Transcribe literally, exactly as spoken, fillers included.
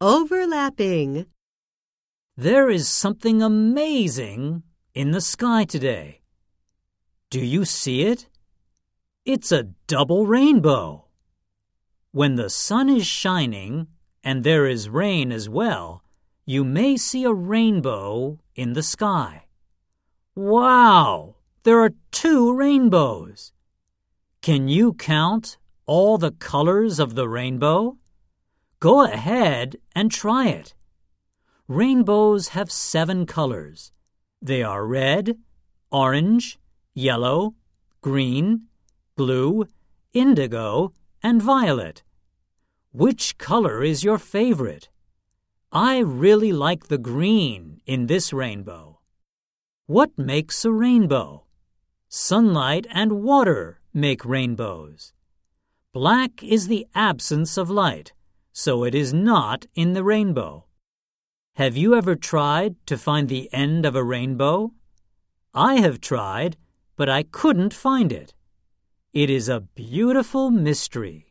Overlapping. There is something amazing in the sky today. Do you see it? It's a double rainbow. When the sun is shining and there is rain as well, you may see a rainbow in the sky. Wow! There are two rainbows. Can you count all the colors of the rainbow? Go ahead and try it. Rainbows have seven colors. They are red, orange, yellow, green, blue, indigo, and violet. Which color is your favorite? I really like the green in this rainbow. What makes a rainbow? Sunlight and water make rainbows. Black is the absence of light, so it is not in the rainbow. Have you ever tried to find the end of a rainbow? I have tried, but I couldn't find it. It is a beautiful mystery.